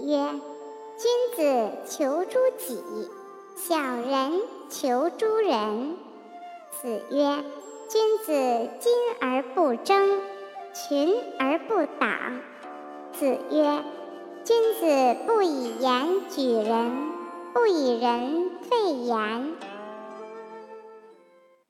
曰：君子求诸己，小人求诸人。子曰：君子矜而不争，群而不党。子曰：君子不以言举人，不以人废言。